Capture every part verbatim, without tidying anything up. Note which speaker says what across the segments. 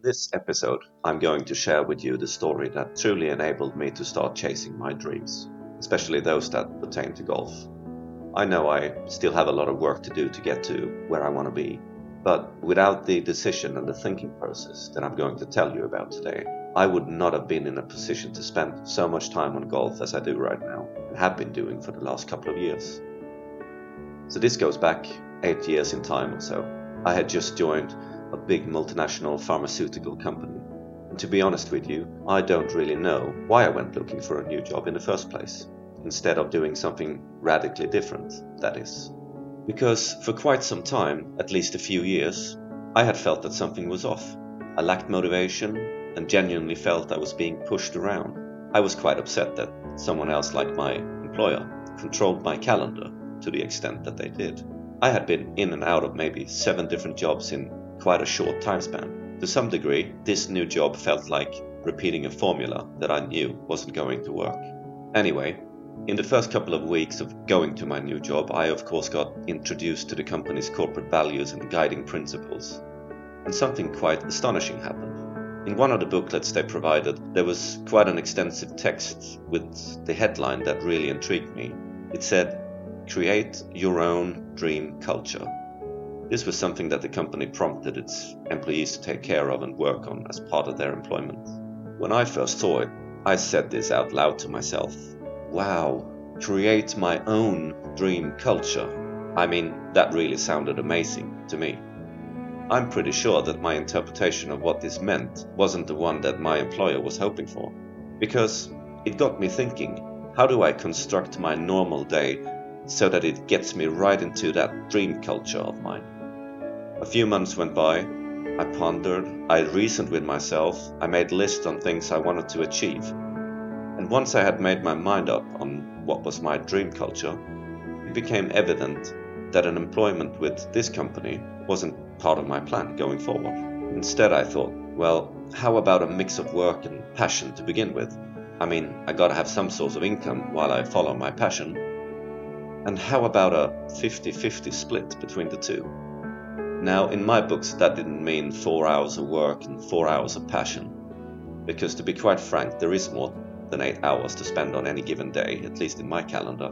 Speaker 1: this episode, I'm going to share with you the story that truly enabled me to start chasing my dreams, especially those that pertain to golf. I know I still have a lot of work to do to get to where I want to be, but without the decision and the thinking process that I'm going to tell you about today, I would not have been in a position to spend so much time on golf as I do right now, and have been doing for the last couple of years. So this goes back eight years in time or so. I had just joined a big multinational pharmaceutical company. And to be honest with you, I don't really know why I went looking for a new job in the first place, instead of doing something radically different, that is. Because for quite some time, at least a few years, I had felt that something was off. I lacked motivation and genuinely felt I was being pushed around. I was quite upset that someone else, like my employer, controlled my calendar to the extent that they did. I had been in and out of maybe seven different jobs in quite a short time span. To some degree, this new job felt like repeating a formula that I knew wasn't going to work. Anyway, in the first couple of weeks of going to my new job, I of course got introduced to the company's corporate values and guiding principles. And something quite astonishing happened. In one of the booklets they provided, there was quite an extensive text with the headline that really intrigued me. It said, "Create your own dream culture." This was something that the company prompted its employees to take care of and work on as part of their employment. When I first saw it, I said this out loud to myself. Wow, create my own dream culture. I mean, that really sounded amazing to me. I'm pretty sure that my interpretation of what this meant wasn't the one that my employer was hoping for, because it got me thinking, how do I construct my normal day so that it gets me right into that dream culture of mine? A few months went by, I pondered, I reasoned with myself, I made lists on things I wanted to achieve. And once I had made my mind up on what was my dream culture, it became evident that an employment with this company wasn't part of my plan going forward. Instead, I thought, well, how about a mix of work and passion to begin with? I mean, I gotta have some source of income while I follow my passion. And how about a fifty-fifty split between the two? Now, in my books, that didn't mean four hours of work and four hours of passion. Because to be quite frank, there is more than eight hours to spend on any given day, at least in my calendar.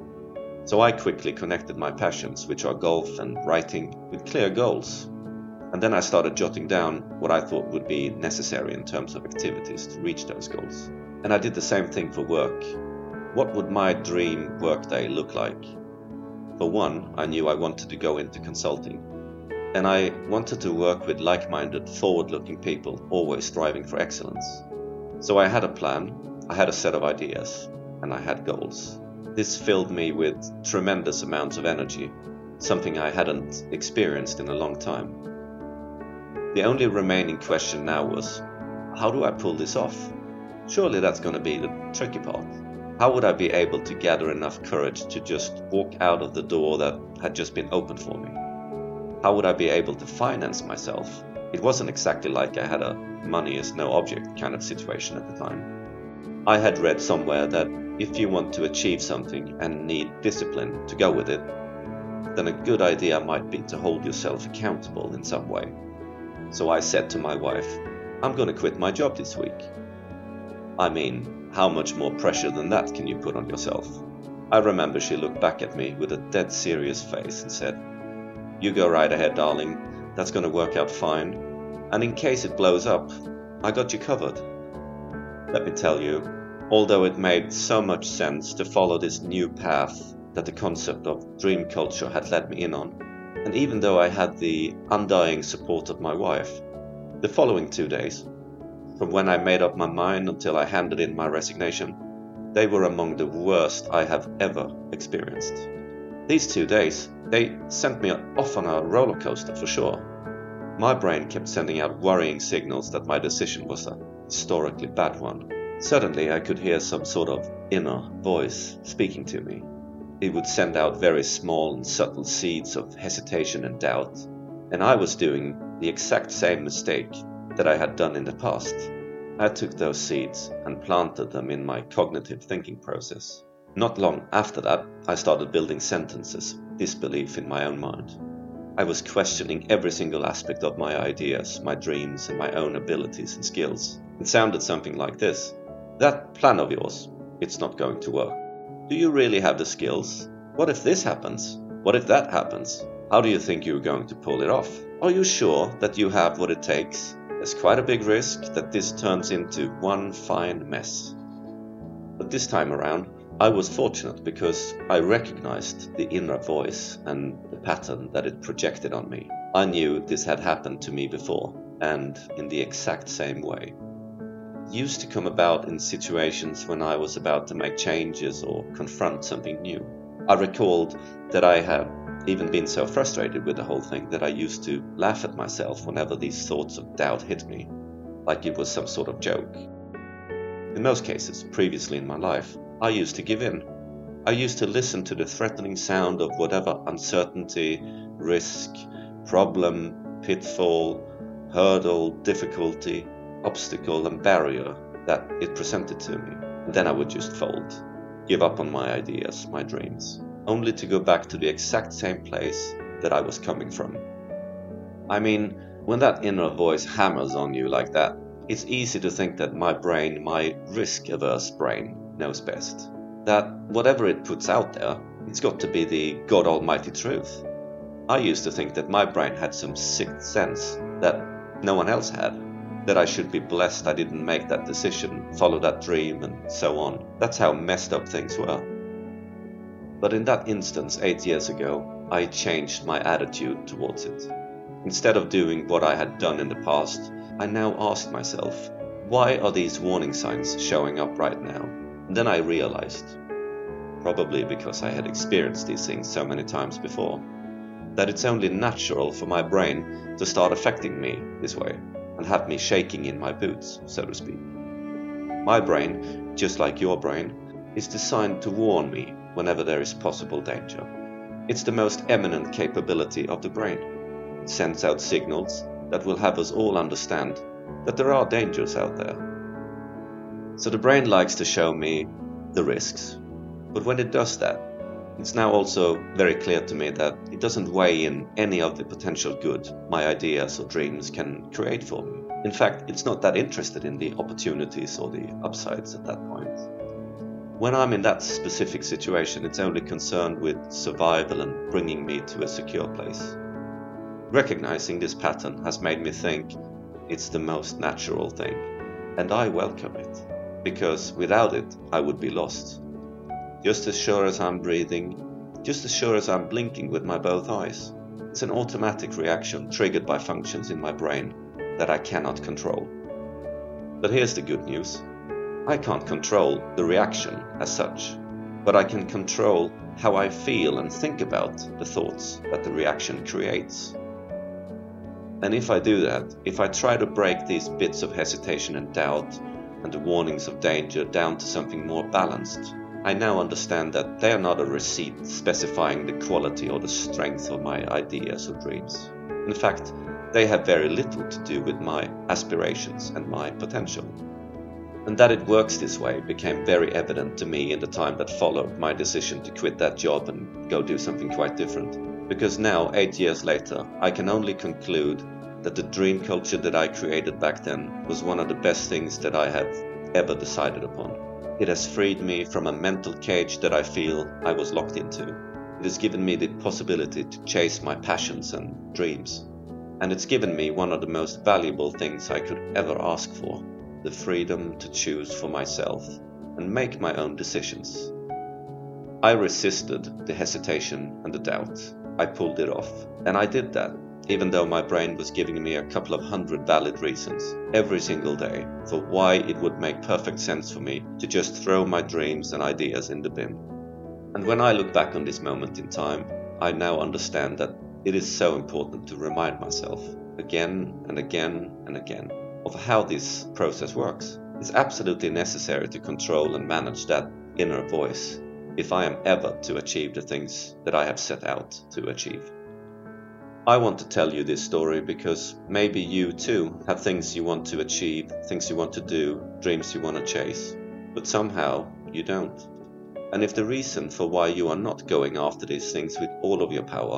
Speaker 1: So I quickly connected my passions, which are golf and writing, with clear goals. And then I started jotting down what I thought would be necessary in terms of activities to reach those goals. And I did the same thing for work. What would my dream workday look like? For one, I knew I wanted to go into consulting. And I wanted to work with like-minded, forward-looking people, always striving for excellence. So I had a plan, I had a set of ideas, and I had goals. This filled me with tremendous amounts of energy, something I hadn't experienced in a long time. The only remaining question now was, how do I pull this off? Surely that's going to be the tricky part. How would I be able to gather enough courage to just walk out of the door that had just been opened for me? How would I be able to finance myself? It wasn't exactly like I had a money is no object kind of situation at the time. I had read somewhere that if you want to achieve something and need discipline to go with it, then a good idea might be to hold yourself accountable in some way. So I said to my wife, I'm going to quit my job this week. I mean, how much more pressure than that can you put on yourself? I remember she looked back at me with a dead serious face and said, "You go right ahead, darling. That's going to work out fine. And in case it blows up, I got you covered." Let me tell you, although it made so much sense to follow this new path that the concept of dream culture had led me in on, and even though I had the undying support of my wife, the following two days, from when I made up my mind until I handed in my resignation, they were among the worst I have ever experienced. These two days, they sent me off on a roller coaster for sure. My brain kept sending out worrying signals that my decision was a historically bad one. Suddenly I could hear some sort of inner voice speaking to me. It would send out very small and subtle seeds of hesitation and doubt, and I was doing the exact same mistake that I had done in the past. I took those seeds and planted them in my cognitive thinking process. Not long after that, I started building sentences, disbelief in my own mind. I was questioning every single aspect of my ideas, my dreams, and my own abilities and skills. It sounded something like this. That plan of yours, it's not going to work. Do you really have the skills? What if this happens? What if that happens? How do you think you're going to pull it off? Are you sure that you have what it takes? There's quite a big risk that this turns into one fine mess. But this time around, I was fortunate because I recognized the inner voice and the pattern that it projected on me. I knew this had happened to me before, and in the exact same way. It used to come about in situations when I was about to make changes or confront something new. I recalled that I had even been so frustrated with the whole thing that I used to laugh at myself whenever these thoughts of doubt hit me, like it was some sort of joke. In most cases, previously in my life, I used to give in. I used to listen to the threatening sound of whatever uncertainty, risk, problem, pitfall, hurdle, difficulty, obstacle and barrier that it presented to me. And then I would just fold, give up on my ideas, my dreams, only to go back to the exact same place that I was coming from. I mean, when that inner voice hammers on you like that, it's easy to think that my brain, my risk-averse brain, knows best. That whatever it puts out there, it's got to be the God Almighty truth. I used to think that my brain had some sixth sense that no one else had. That I should be blessed I didn't make that decision, follow that dream, and so on. That's how messed up things were. But in that instance, eight years ago, I changed my attitude towards it. Instead of doing what I had done in the past, I now asked myself, why are these warning signs showing up right now? And then I realized, probably because I had experienced these things so many times before, that it's only natural for my brain to start affecting me this way and have me shaking in my boots, so to speak. My brain, just like your brain, is designed to warn me whenever there is possible danger. It's the most eminent capability of the brain. It sends out signals that will have us all understand that there are dangers out there. So the brain likes to show me the risks, but when it does that, it's now also very clear to me that it doesn't weigh in any of the potential good my ideas or dreams can create for me. In fact, it's not that interested in the opportunities or the upsides at that point. When I'm in that specific situation, it's only concerned with survival and bringing me to a secure place. Recognizing this pattern has made me think it's the most natural thing, and I welcome it, because without it I would be lost. Just as sure as I'm breathing, just as sure as I'm blinking with my both eyes. It's an automatic reaction triggered by functions in my brain that I cannot control. But here's the good news. I can't control the reaction as such, but I can control how I feel and think about the thoughts that the reaction creates. And if I do that, if I try to break these bits of hesitation and doubt and the warnings of danger down to something more balanced, I now understand that they are not a receipt specifying the quality or the strength of my ideas or dreams. In fact, they have very little to do with my aspirations and my potential. And that it works this way became very evident to me in the time that followed my decision to quit that job and go do something quite different. Because now, eight years later, I can only conclude that the dream culture that I created back then was one of the best things that I have ever decided upon. It has freed me from a mental cage that I feel I was locked into. It has given me the possibility to chase my passions and dreams. And it's given me one of the most valuable things I could ever ask for, the freedom to choose for myself and make my own decisions. I resisted the hesitation and the doubt. I pulled it off, and I did that, even though my brain was giving me a couple of hundred valid reasons every single day for why it would make perfect sense for me to just throw my dreams and ideas in the bin. And when I look back on this moment in time, I now understand that it is so important to remind myself again and again and again of how this process works. It's absolutely necessary to control and manage that inner voice if I am ever to achieve the things that I have set out to achieve. I want to tell you this story because maybe you too have things you want to achieve, things you want to do, dreams you want to chase, but somehow you don't. And if the reason for why you are not going after these things with all of your power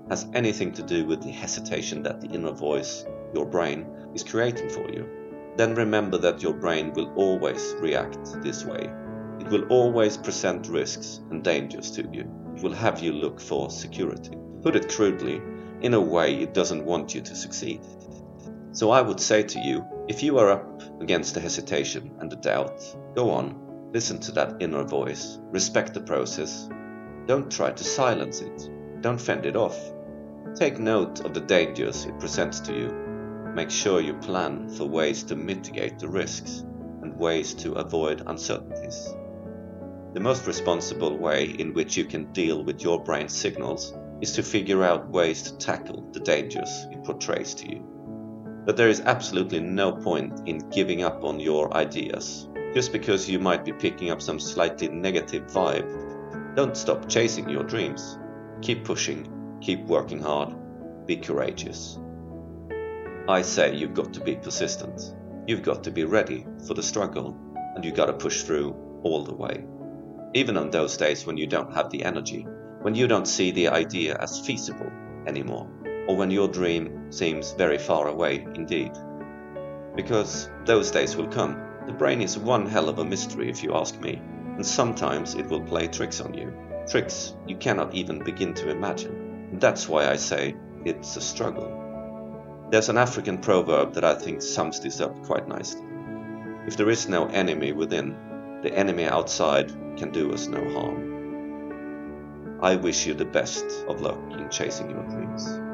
Speaker 1: has anything to do with the hesitation that the inner voice, your brain, is creating for you, then remember that your brain will always react this way. It will always present risks and dangers to you. It will have you look for security. To put it crudely, in a way it doesn't want you to succeed. So I would say to you, if you are up against the hesitation and the doubt, go on, listen to that inner voice, respect the process. Don't try to silence it. Don't fend it off. Take note of the dangers it presents to you. Make sure you plan for ways to mitigate the risks and ways to avoid uncertainties. The most responsible way in which you can deal with your brain's signals is to figure out ways to tackle the dangers it portrays to you. But there is absolutely no point in giving up on your ideas. Just because you might be picking up some slightly negative vibe, don't stop chasing your dreams. Keep pushing, keep working hard, be courageous. I say you've got to be persistent. You've got to be ready for the struggle, and you've got to push through all the way. Even on those days when you don't have the energy, when you don't see the idea as feasible anymore, or when your dream seems very far away indeed. Because those days will come. The brain is one hell of a mystery if you ask me, and sometimes it will play tricks on you. Tricks you cannot even begin to imagine. And that's why I say it's a struggle. There's an African proverb that I think sums this up quite nicely. If there is no enemy within, the enemy outside can do us no harm. I wish you the best of luck in chasing your dreams.